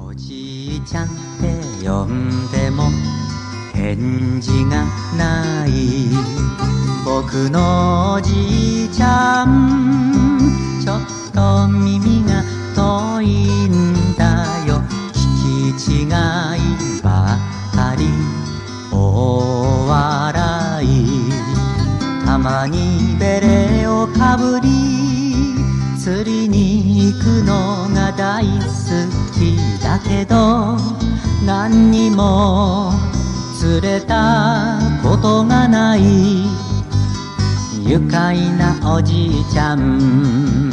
おじいちゃんって呼んでも返事がない。僕のおじいちゃん、ちょっと耳が遠いんだよ。聞き違いばかり大笑い。たまにベレをかぶり釣りに行くのが大好きだけど、何にも釣れたことがない愉快なおじいちゃん。